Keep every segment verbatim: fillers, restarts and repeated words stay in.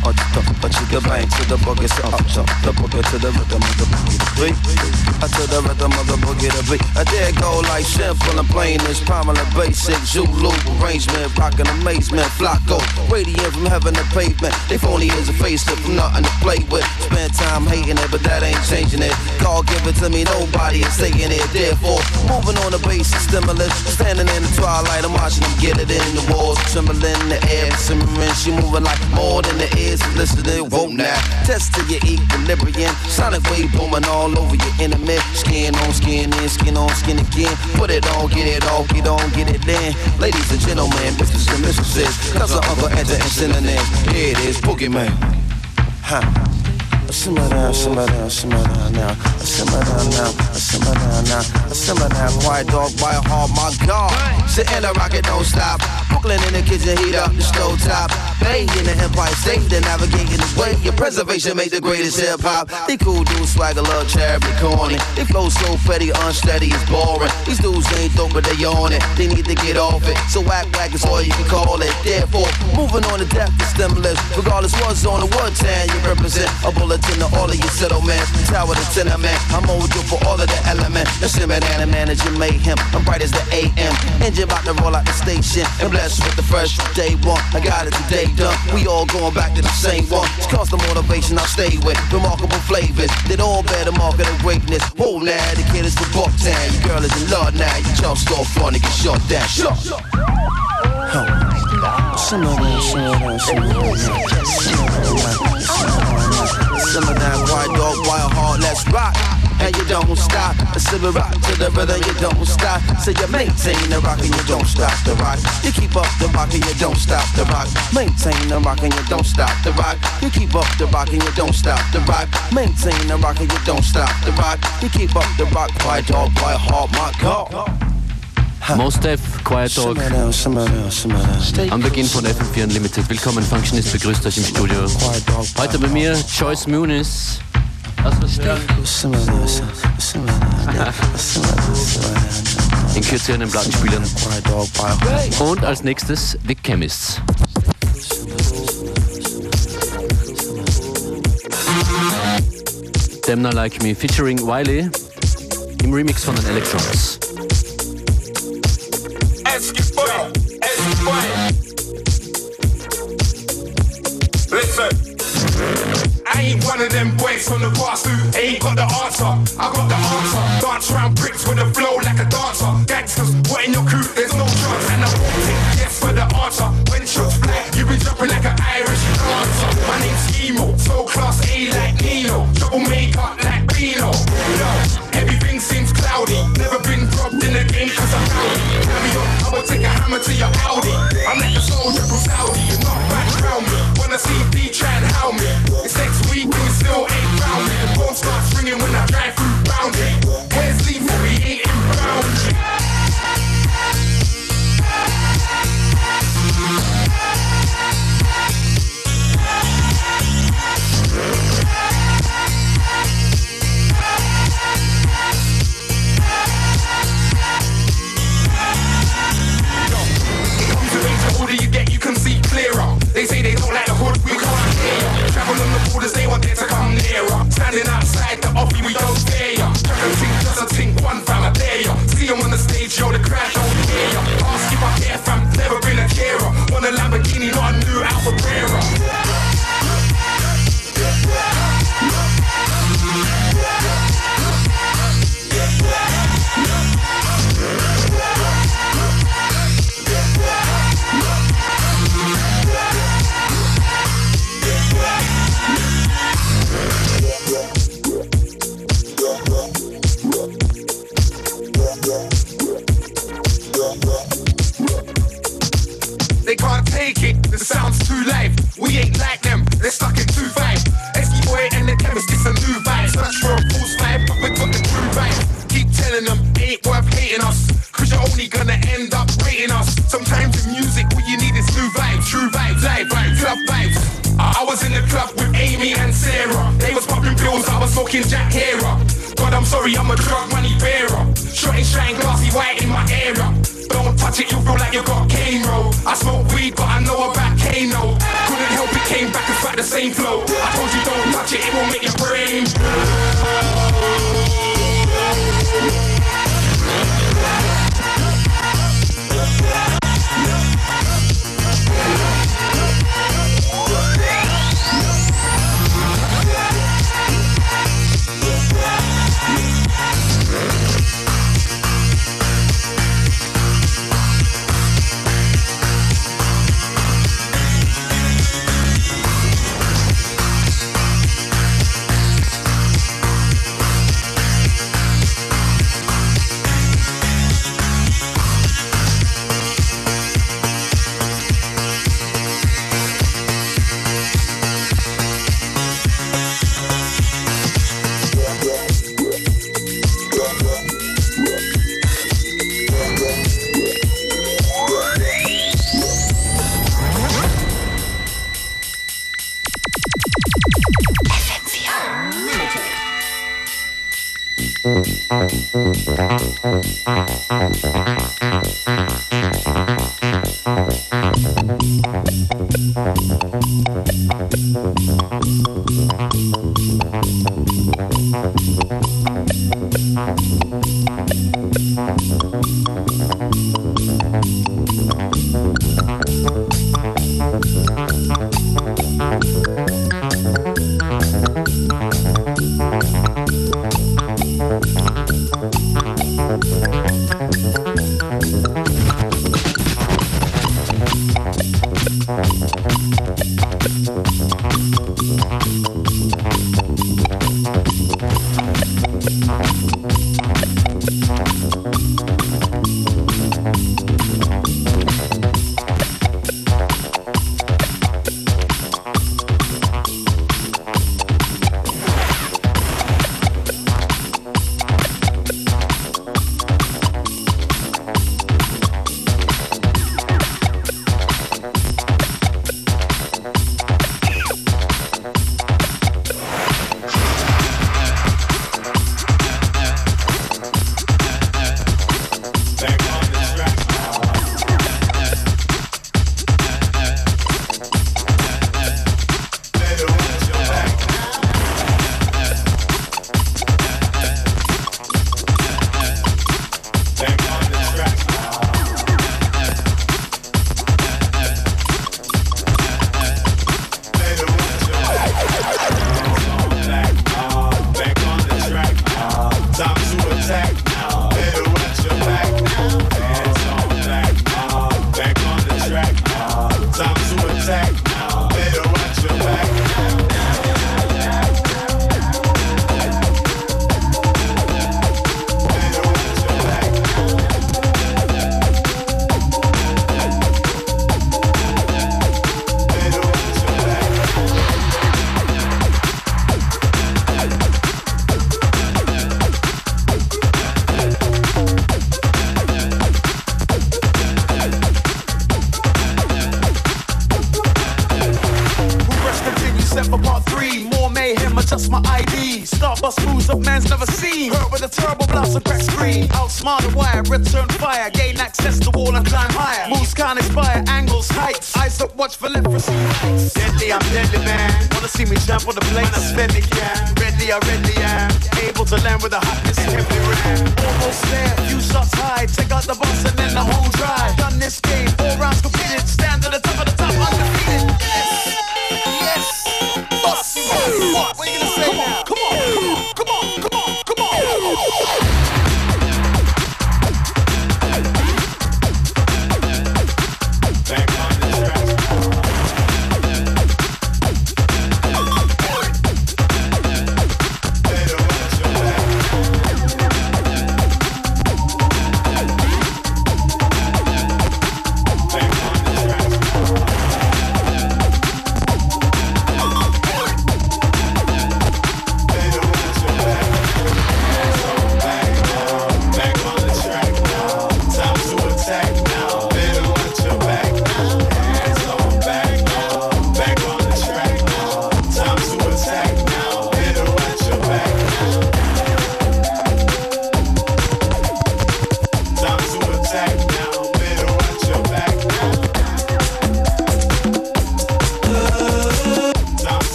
uh, uh, chicka bang to the boogie, so up, jump the boogie to the rhythm of the boogie to beat. I to the rhythm of the boogie to beat. I dare go like simple and plain as prominent basic Zulu arrangement, rockin' amazement, flocko, radiant from heaven to pavement. They phony is a facelift from nothing to play with. Spend time hating it, but that ain't changing it. God give it to me, nobody is taking it. Therefore, moving on the basic stimulus, standing in the twilight, I'm watching them get it in the walls, trembling in the air, simmering. She moving like more than the ears, listening. Whoa now, test to your equilibrium, sonic wave booming all over your enemy. Skin on skin in, skin on skin again. Put it on, get it off, get on, get it in. Ladies and gentlemen, misters and mistresses, cousin, uncle, enter and synonyms. Here it is, Boogeyman. Huh. Simmer down, simmer down, simmer down now. Simmer down now, simmer down now. Simmer down, quiet dog, by a heart, my God. Sit in the rocket, don't stop. Brooklyn in the kitchen, heat up the stove top. Bay in the Empire State, they're navigating the way. Your preservation make the greatest hip hop. They cool dudes, swagger, love, charity, corny. They flow so petty, unsteady, it's boring. These dudes ain't dope, but they on it. They need to get off it. So act like it's all you can call it. Therefore, moving on to death to stimulus. Regardless what's on the what town you represent. A bullet to all of your settlements, tower to tenement. I'm old you for all of the elements. The simmer down and managing mayhem. I'm bright as the A M. Engine about to roll out the station. And blessed with the fresh day one. I got it today done. We all going back to the same one. It's cause the motivation I stay with. Remarkable flavors. They all bear the mark of the greatness. Whoa now, the kid is from Bucktown. Your girl is in love now. You jump so fun to get shut down. Shut. Huh. Simmer down, simmer down, simmer down, simmer down, simmer down, quiet dog, wild heart, let's rock. And you don't stop, simmer rock to the rhythm, you don't stop. So you maintain the rock and you don't stop the rock. You keep up the rock and you don't stop the rock. Maintain the rock and you don't stop the rock. You keep up the rock and you don't stop the rock. Maintain the rock and you don't stop the rock. You keep up the rock, quiet dog, wild heart, my God. Mos Def, Quiet Dog, am Beginn von F M vier Unlimited. Willkommen, Functionist begrüßt euch im Studio. Heute bei mir Joyce Muniz. Was was in Kürze an den Plattenspielern. Und als nächstes The Chemists. Them Not Like Me featuring Wiley im Remix von den Electrons. Esquiboy, Esquiboy. Listen, I ain't one of them boys from the past who ain't got the answer. I got the answer. Dance around bricks with a flow like a dancer. Gangsters, what in your crew? There's no chance. And I won't take yes for the answer. When shots fly, you been jumping like an Irish dancer. My name's Emo, so class A like Nino. Double makeup like Reno. Yo, everything seems cloudy. Never been robbed in the game cause I'm rowdy. Carry on, I will take a hammer to your Audi. I'm like a soldier from Saudi. You're not back around me. Wanna see D try and howl me. It's next week and we still ain't round me. The phone starts ringing when I drive through boundary. Where's lethal? We ain't in boundary. They say they don't like the hood, we can't hear ya. Travel on the borders, they want it to come nearer. Standing outside the offie, we don't dare ya. Track and think, just a think, one fam, I dare ya. See them on the stage, yo, the crowd don't hear ya. Ask if I care fam, never been a carer. Want a Lamborghini, not a new Alfa Brera. They can't take it, the sound's too live. We ain't like them, they're stuck in two five. Esquiboy and the Chemist, it's a new vibe. Search for a false vibe, but we got the true vibe. Keep telling them, it ain't worth hating us. Cause you're only gonna end up rating us. Sometimes in music, what you need is new vibes. True vibes, live vibes, club vibes. uh, I was in the club with Amy and Sarah. They was popping pills, I was smoking Jack Hera. God, I'm sorry, I'm a drug money bearer. Shot and shine, glassy white in my era. Don't touch it, you feel like you got cane roll. I smoke weed, but I know about Kano. Couldn't help it, came back and fact the same flow. I told you don't touch it, it will make your brain.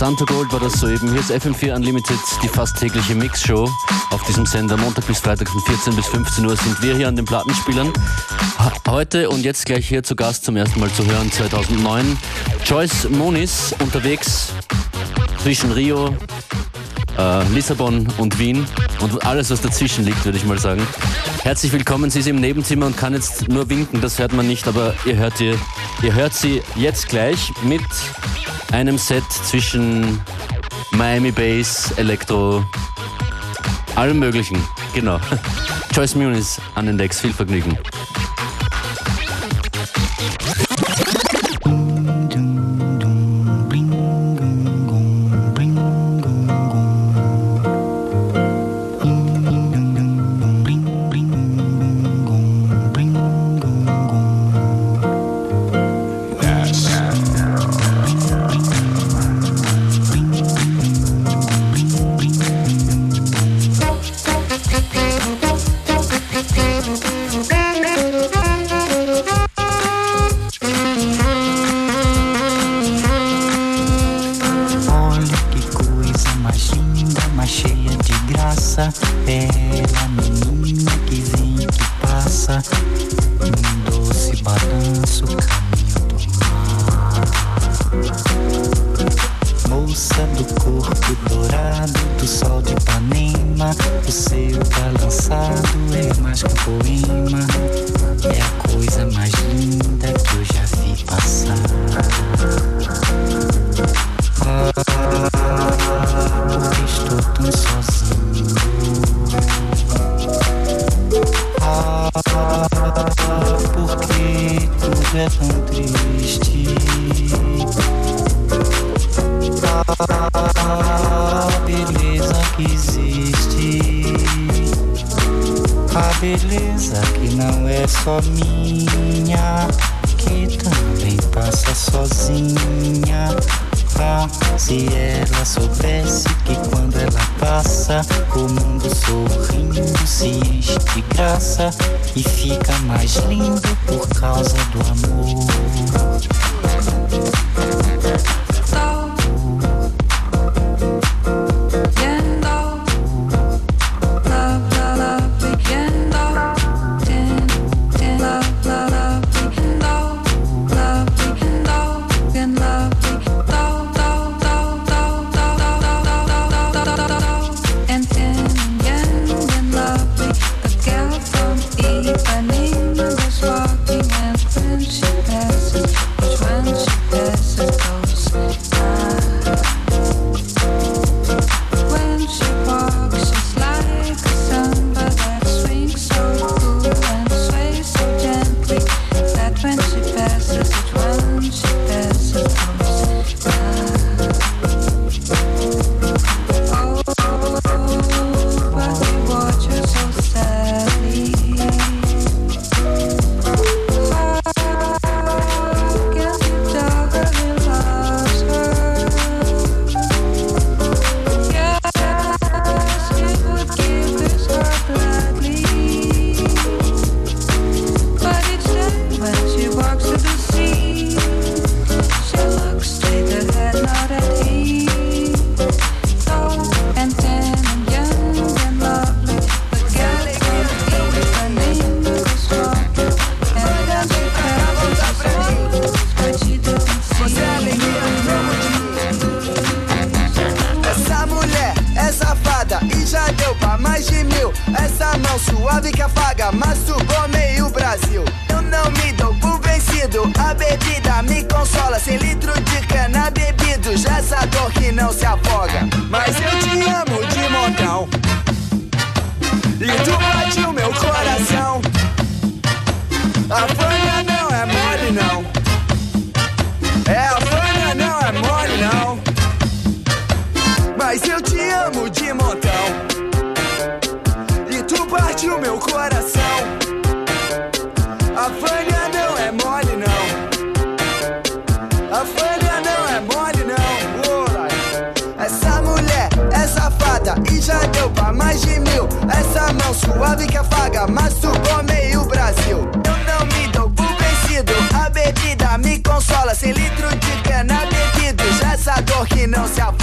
Santo Gold war das soeben. Hier ist F M vier Unlimited, die fast tägliche Mixshow auf diesem Sender. Montag bis Freitag von vierzehn bis fünfzehn Uhr sind wir hier an den Plattenspielern. Heute und jetzt gleich hier zu Gast zum ersten Mal zu hören, zweitausendneun. Joyce Muniz unterwegs zwischen Rio, äh, Lissabon und Wien und alles, was dazwischen liegt, würde ich mal sagen. Herzlich willkommen, sie ist im Nebenzimmer und kann jetzt nur winken, das hört man nicht, aber ihr hört, ihr, ihr hört sie jetzt gleich mit einem Set zwischen Miami Bass, Elektro, allem möglichen, genau. Joyce Muniz an den Decks, viel Vergnügen. E fica mais lindo por causa do amor. Suave que afaga, masturbou meio Brasil. Eu não me dou por vencido, a bebida me consola. Sem litro de cana bebido, já essa dor que não se afoga.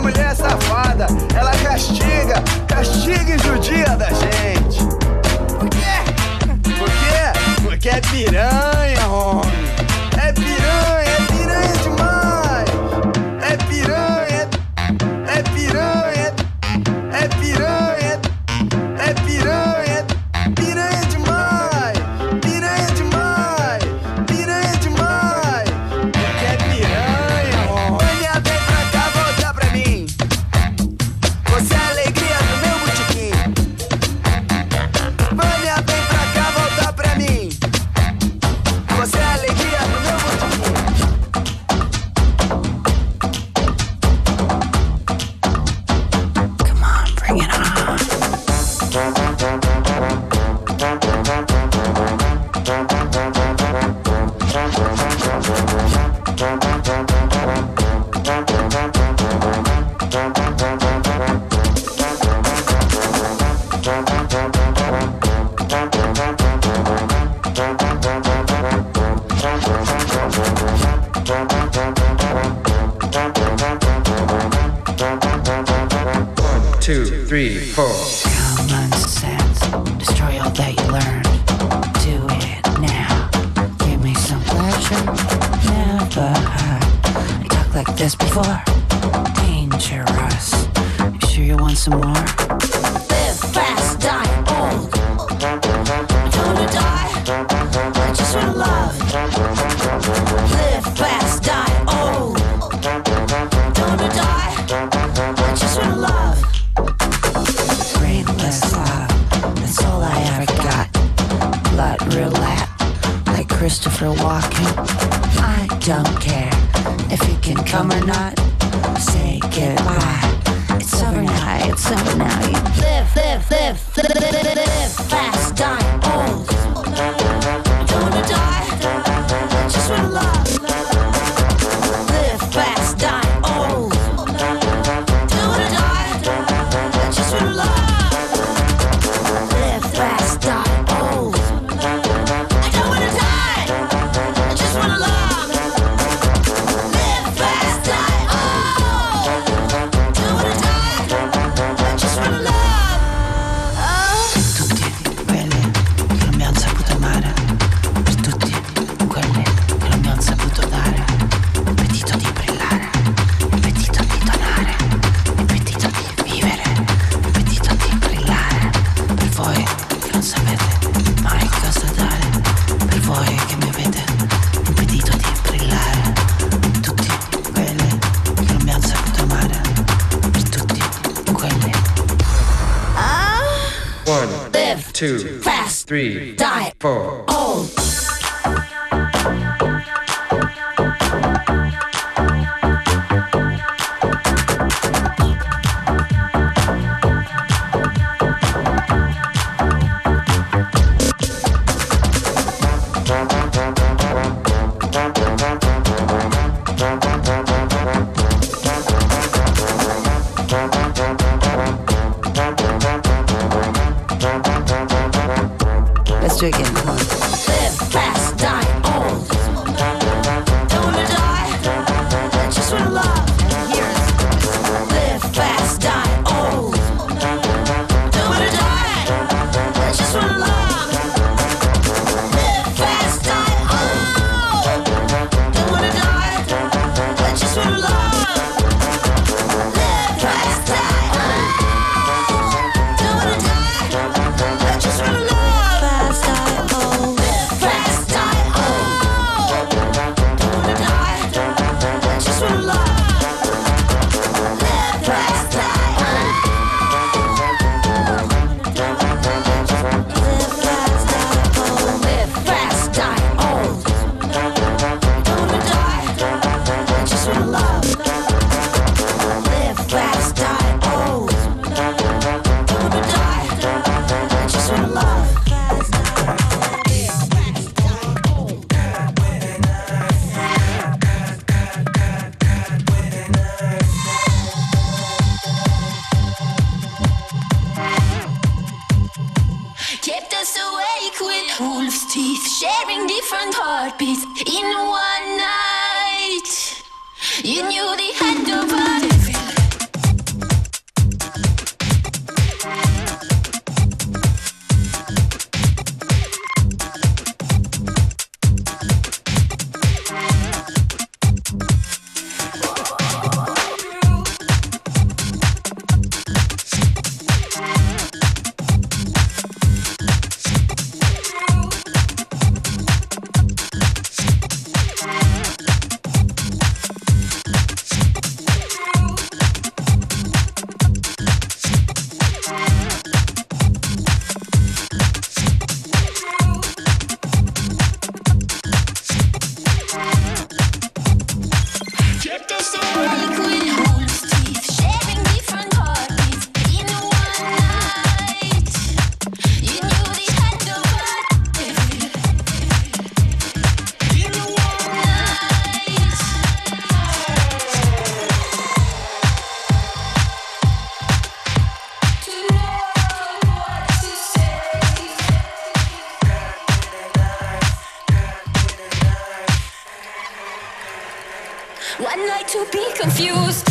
mulher safada. Ela castiga, castiga e judia da gente. Por quê? Por quê? Porque é piranha, homem. É piranha, é piranha demais. É piranha, é piranha, é piranha, é piranha, piranha demais. Piranha demais, piranha demais. Porque é piranha, homem. Vânia, vem pra cá, volta pra mim. Você é a alegria do meu botequim. Vânia, vem pra cá, volta pra mim. Você é a alegria do meu botequim. Come on, bring it on. Two, three, four. Common sense, destroy all that you learned. Do it now. Give me some pleasure. Never heard I talk like this before. Dangerous. You sure you want some more? Live fast, die old. I don't wanna die. I just wanna love. Live fast, die old. Don't wanna die. I just wanna love. Brainless love, that's all I ever got. Blood roulette, like Christopher Walken. I don't care if you can come or not. Say goodbye. It's over now, it's over now. You live, live, live, live, live, live fast, die old. I don't wanna die, I just wanna love. Live fast, die old. Don't wanna die, I just wanna love. Live fast, die old. I don't wanna die, I just wanna love. Live fast, die old. Don't wanna die, I just wanna love. Tutti quelli che non mi han saputo amare, per tutti quelli che non mi han saputo dare, appetito di brillare, appetito di donare, appetito di vivere, appetito di brillare, per voi che non sapete mai cosa dare, per voi che mi avete impedito di brillare, tutti quelli che non mi han saputo amare, per tutti quelli. One, Live two, fast, three, die four. old. Let's do it again. Come on. Live fast, die old. Don't wanna die, I just wanna love. Live fast, die old. Don't wanna die, I just wanna love. Live fast, die old. Don't wanna die, I just wanna love. Live fast, die old. Don't wanna die, I just wanna love. Fast, die old. Live fast, die old. Don't wanna die, I just wanna love. Live fast, die old. Live fast, die old. Live fast, die old. Don't wanna die, I just wanna love. Live fast, die old. Don't wanna die, I just wanna love. Kept us awake with wolves' teeth, sharing different heartbeats in one night. You knew they had no body. One night to be confused.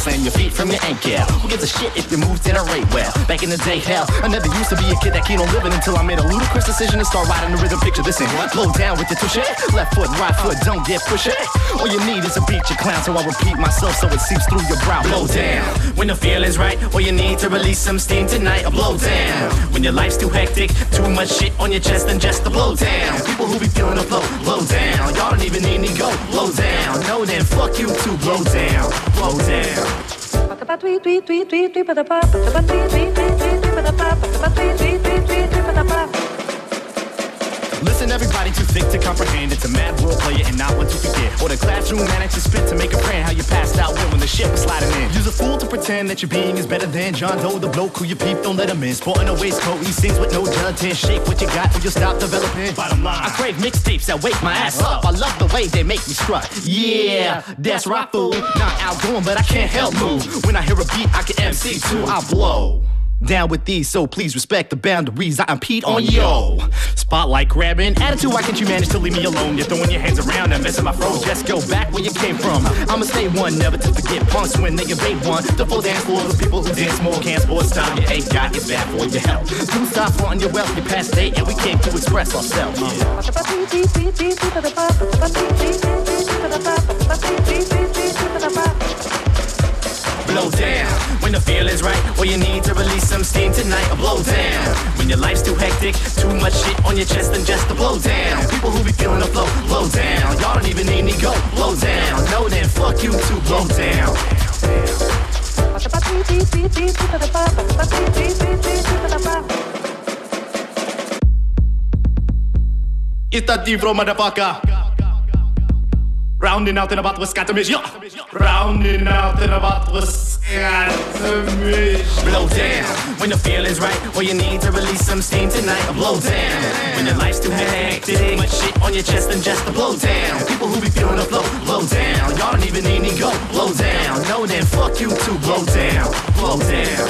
slam your feet from your ankle. Who gives a shit if your moves didn't rate well? Back in the day, hell, I never used to be a kid that keen on living until I made a ludicrous decision to start riding the rhythm. Picture this in. Blow down with your touche. Left foot, right foot, don't get pushy. All you need is a beat, you clown, so I repeat myself so it seeps through your brow. Blow down when the feeling's right. All you need to release some steam tonight. A blow down when your life's too hectic, too much shit on your chest and just a blow down. People who be feeling the flow, blow down. Y'all don't even need me go, blow down. No, then fuck you too, blow down, blow down. Listen, everybody too thick to comprehend. It's a mad role player and not one to forget. Or the classroom managed to spit to make a friend. How you passed out when, when the shit was sliding in. Use a fool to pretend that your being is better than John Doe, the bloke who you peep, don't let him in. Sporting a waistcoat, he sings with no gelatin. Shake what you got or you'll stop developing. Bottom line, I crave mixtapes that wake my ass up. I love the way they make me strut. Yeah, that's rock fool. Not outgoing, but I can't help move. When I hear a beat, I can M C too. I blow down with these, so please respect the boundaries. I impede on yo. Spotlight grabbing, attitude, why can't you manage to leave me alone? You're throwing your hands around and messing my fro. Just go back where you came from. I'ma stay one, never to forget punks when they invade one. The full dance floor of people who dance more. Can't sports time, you ain't got it bad for your health. Do stop fronting your wealth, your past date, and we came to express ourselves. Yeah. Blow down when the feeling's right. All you need to release some steam tonight. A blow down when your life's too hectic, too much shit on your chest and just a blow down. People who be feeling the flow, blow down. Y'all don't even need me go, blow down. No, then fuck you too, blow down. It's that deep flow, motherfucker. Rounding out in about what's got to miss, yo. Rounding out in about what's got to miss. Blow down when the feeling's right. All you need to release some steam tonight. A blow down when your life's too hectic, too much shit on your chest and just a blow down. People who be feeling the flow, blow down. Y'all don't even need me go, blow down. No, then fuck you too, blow down, blow down.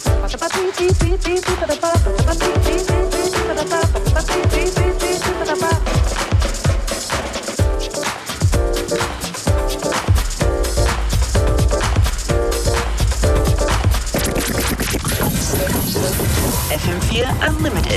F M four Unlimited.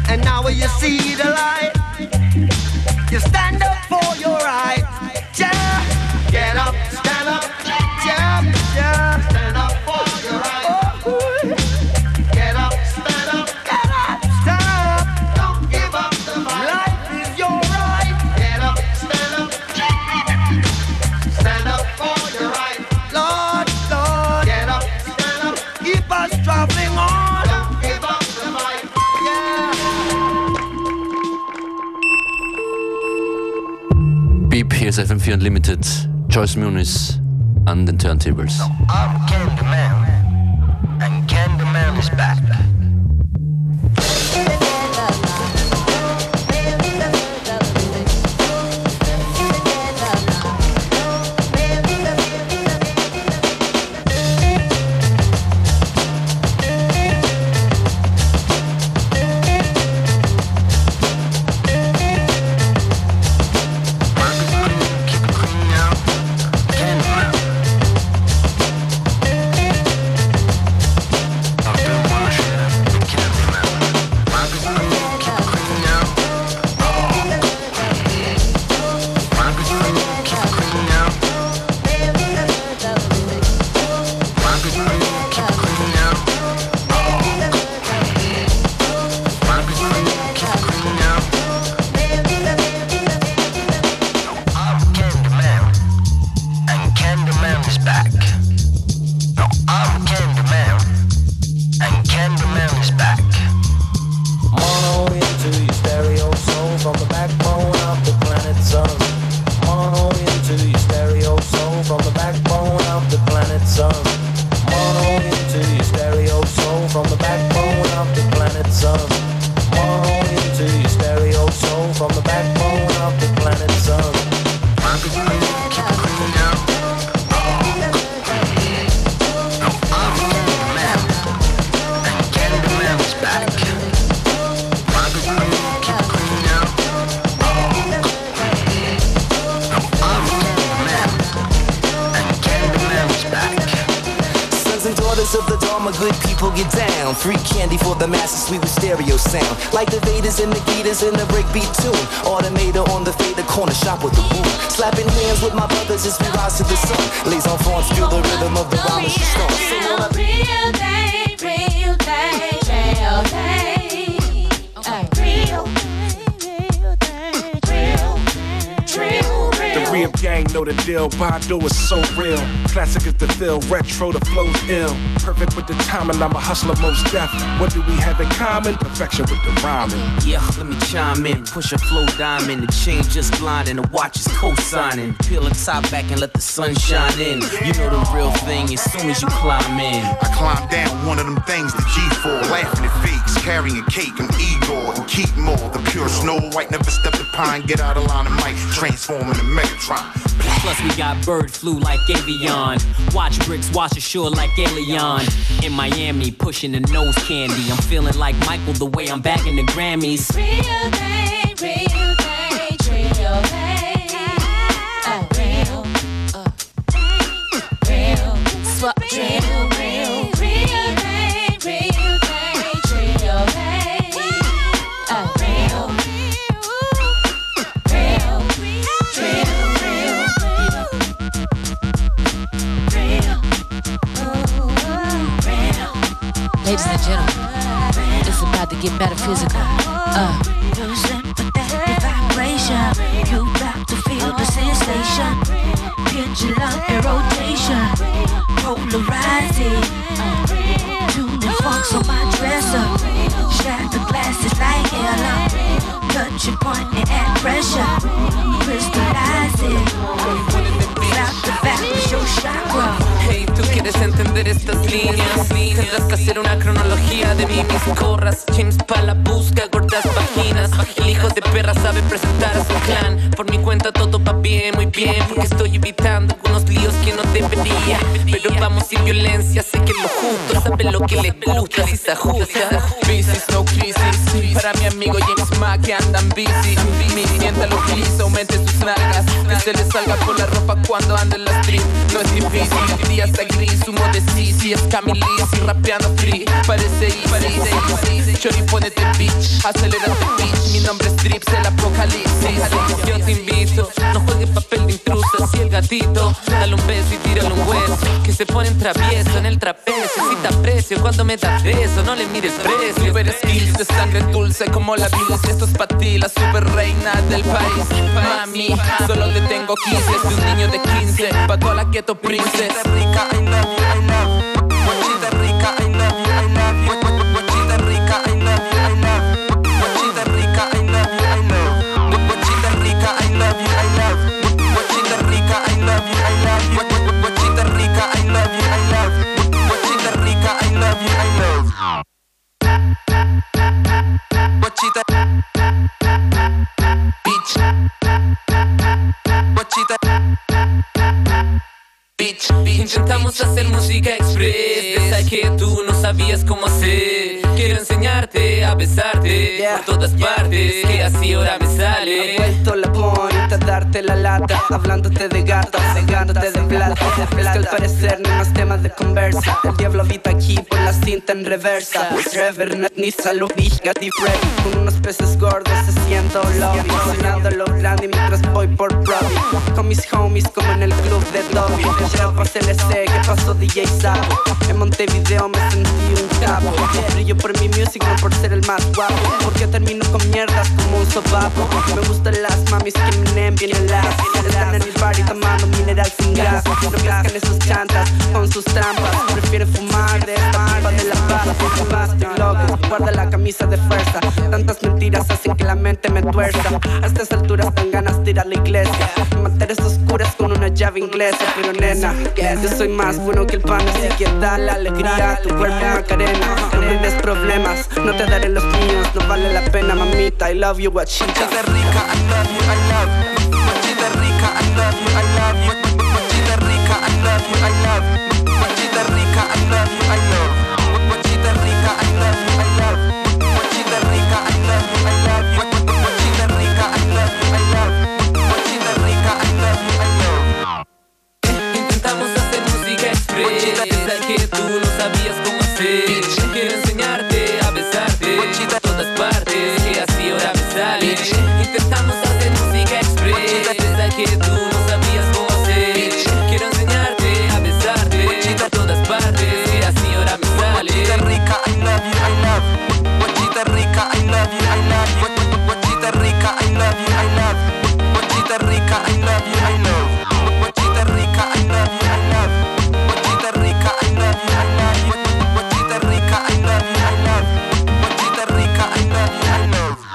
See the light, you stand up for your right, just Beep, hier ist F M vier Unlimited. Joyce Muniz an den Turntables. No, I'm Candyman, and Candyman is back. Of the Dharma, good people get down. Free candy for the masses, sweet with stereo sound. Like the Vedas and the Gitas in the breakbeat tune. Automator on the fader, corner shop with the boom. Slapping hands with my brothers as we rise to the sun. Les enfants feel the rhythm of the rhyme as she starts. Real thing, real thing, real thing. Uh, real, real thing, real, real, real. The real gang know the deal. Badu is so real. Classic is the feel, retro, the flow's ill. Perfect with the timing, I'm a hustler most deaf. What do we have in common? Perfection with the rhyming. Yeah, let me chime in. Push a flow diamond, the chain just blinding, the watch is co-signing. Peel the top back and let the sun shine in. You know the real thing as soon as you climb in. I climb down one of them things, the G four, laughing at fakes, carrying cake, I'm Igor and keep more. The pure Snow White, never step the pine, get out of line of mic, transform into Megatron. Plus we got bird flu like avion. Watch bricks, watch ashore like alien. In Miami, pushing the nose candy. I'm feeling like Michael the way I'm bagging the Grammys. Real thing, real thing, real thing. Uh, real, uh, real, swap, real, real, real thing, real thing, real thing. Uh, real, real, real, real. Ladies and gentlemen, it's about to get metaphysical. Uh. You sympathetic vibration. You got to feel the sensation. Pendulum and rotation. Polarizing. Tuning funks on my dresser. Shatter glasses like Ella. Touching point and add pressure. Crystallizing. Slap the back with your chakra. Hey, tú quieres entender estas líneas. Tendrás que hacer una cronología de mí, mis corras. James pa' la busca, gordas vaginas. El hijo de perra sabe presentar a su clan. Por mi cuenta todo va bien, muy bien. Porque estoy evitando algunos líos que no debería. Pero vamos sin violencia, sé que lo justo. Sabe lo que le gusta, si se ajusta. Crisis, no crisis. Para mi amigo James Ma que andan busy. Mi clienta lo utiliza, aumente sus nalgas. Que se le salga por la ropa cuando anda en la street. No es difícil, el día está gris. Humo de Sisi, es Camille y rapeando free. Parece easy, parece easy. Chori, ponete bitch, acelérate bitch. Mi nombre es Drips, el apocalipsis. Yo te invito, no juegues papel de intruso. Si el gatito, dale un beso y tírale un hueso. Que se pone en travieso, en el trapecio. Si te aprecio cuando me das beso, no le mires precio. Super skills de sangre dulce como la vida. Esto es pa' ti, la super reina del país. Mami, solo te tengo quince. Soy un niño de quince, pa' toda la keto princess. Rica, I love you, I love you. Guachita rica, I love you, I love you. Guachita rica, I love you, I love you. Guachita rica, I love you, I love you. Guachita rica, I love you, I love you. Intentamos hacer música express, pensé que tú no sabías cómo hacer. Quiero enseñarte a besarte yeah. por todas partes, yeah. que así ahora me sale. He vuelto la bonita, darte la lata, hablándote de gatos, cegándote de plata. Es que al parecer no hay más temas de conversa. El diablo habita aquí por la cinta en reversa. Reverend ni salud, y Freddy con unos peces gordos haciendo lobby, sonando lo grande mientras voy por Brody. Con mis homies como en el club de Dobby. El C L C, ¿qué pasó D J Sabo? En Montevideo me sentí un capo. Brillo por mi music, no por ser el más guapo. Porque termino con mierdas como un sobapo. Me gustan las mamis que me bien heladas. Están en el party tomando mineral sin gas. No pescan esos chantas con sus trampas. Prefieren fumar de esta pipa de la paz. Estoy loco, guarda la camisa de fuerza. Tantas mentiras hacen que la mente me tuerza. A estas alturas dan ganas de ir a la iglesia. Materias oscuras con una llave inglesa. Pero nena, yo soy más bueno que el pan, así que dale alegría a tu cuerpo, Macarena. No vives problemas, no te daré los míos. No vale la pena, mamita, I love you, guachita. Guachita rica, I love you, I love you. Guachita rica, I love you, I love you. Guachita rica, I love you, I love you. Guachita rica, I love you, I love you. Guachita rica, I love you, I love you. Guachita rica, I love you, I love you. Guachita rica, I love you, I love you. Guachita rica, I love you, I love you. Intentamos hacer música express, pensé que tú no sabías cómo hacer. Quiero enseñarte a besarte por todas partes, que así ahora me sale. Intentamos hacer música express, pensé que tú no sabías cómo hacer. Quiero enseñarte a besarte por todas partes, que así ahora me sale. Guachita rica, I love you, I love you. Guachita rica, I love you, I love you. Guachita rica, I love you, I love you. Guachita rica, I love you, I love you. Guachita rica, I love you, I love you. Guachita rica, I love you, I love you. Guachita rica, I love you, I love you. Guachita rica, I love you, I love you.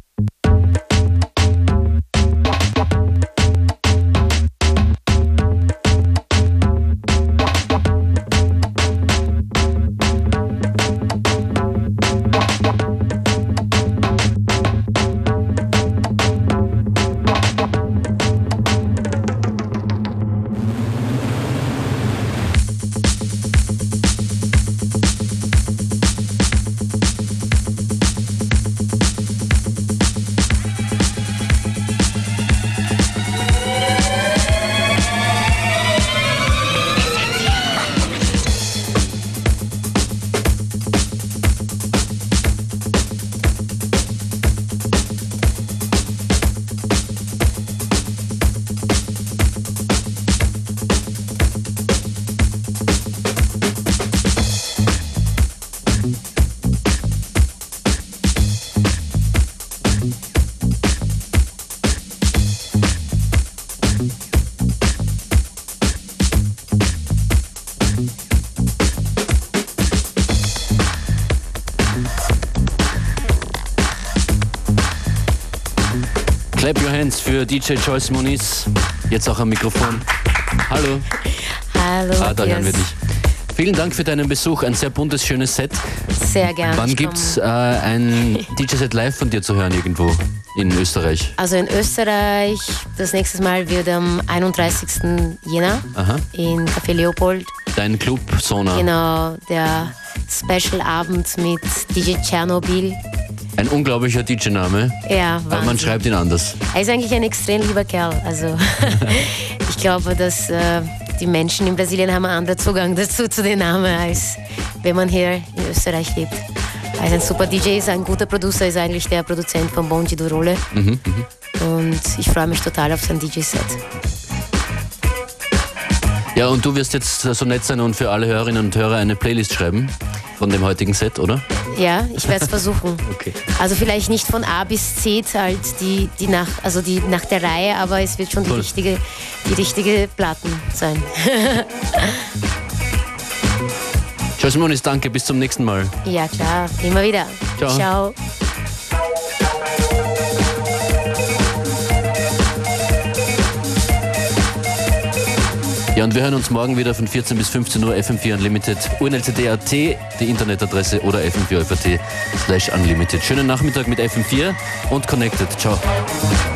Clap your hands für D J Joyce Muniz, jetzt auch am Mikrofon. Hallo. Hallo. Ah, da hören wir dich. Vielen Dank für deinen Besuch, ein sehr buntes, schönes Set. Sehr gerne. Wann gibt es äh, ein D J-Set live von dir zu hören irgendwo in Österreich? Also in Österreich, das nächste Mal wird am einunddreißigsten Jänner Aha. in Café Leopold. Dein Club, Sona. Genau, der Special-Abend mit D J Tschernobyl. Ein unglaublicher D J-Name. Ja, Wahnsinn. Aber man schreibt ihn anders. Er ist eigentlich ein extrem lieber Kerl. Also ich glaube, dass äh, die Menschen in Brasilien haben einen anderen Zugang dazu zu den Namen, als wenn man hier in Österreich lebt. Er ist ein super D J, ist ein guter Producer, ist eigentlich der Produzent von Bonji Durole. Mhm, und ich freue mich total auf sein D J-Set. Ja, und du wirst jetzt so nett sein und für alle Hörerinnen und Hörer eine Playlist schreiben von dem heutigen Set, oder? Ja, ich werde es versuchen. Okay. Also vielleicht nicht von A bis Z, halt die, die nach, also die nach der Reihe, aber es wird schon die richtige, die richtige Platten sein. Joyce Muniz, danke, bis zum nächsten Mal. Ja klar, immer wieder. Ciao. Ciao. Ja, und wir hören uns morgen wieder von vierzehn bis fünfzehn Uhr F M vier Unlimited, U N L C D Punkt A T, die Internetadresse oder F M vier F A T slash Unlimited. Schönen Nachmittag mit F M vier und Connected. Ciao.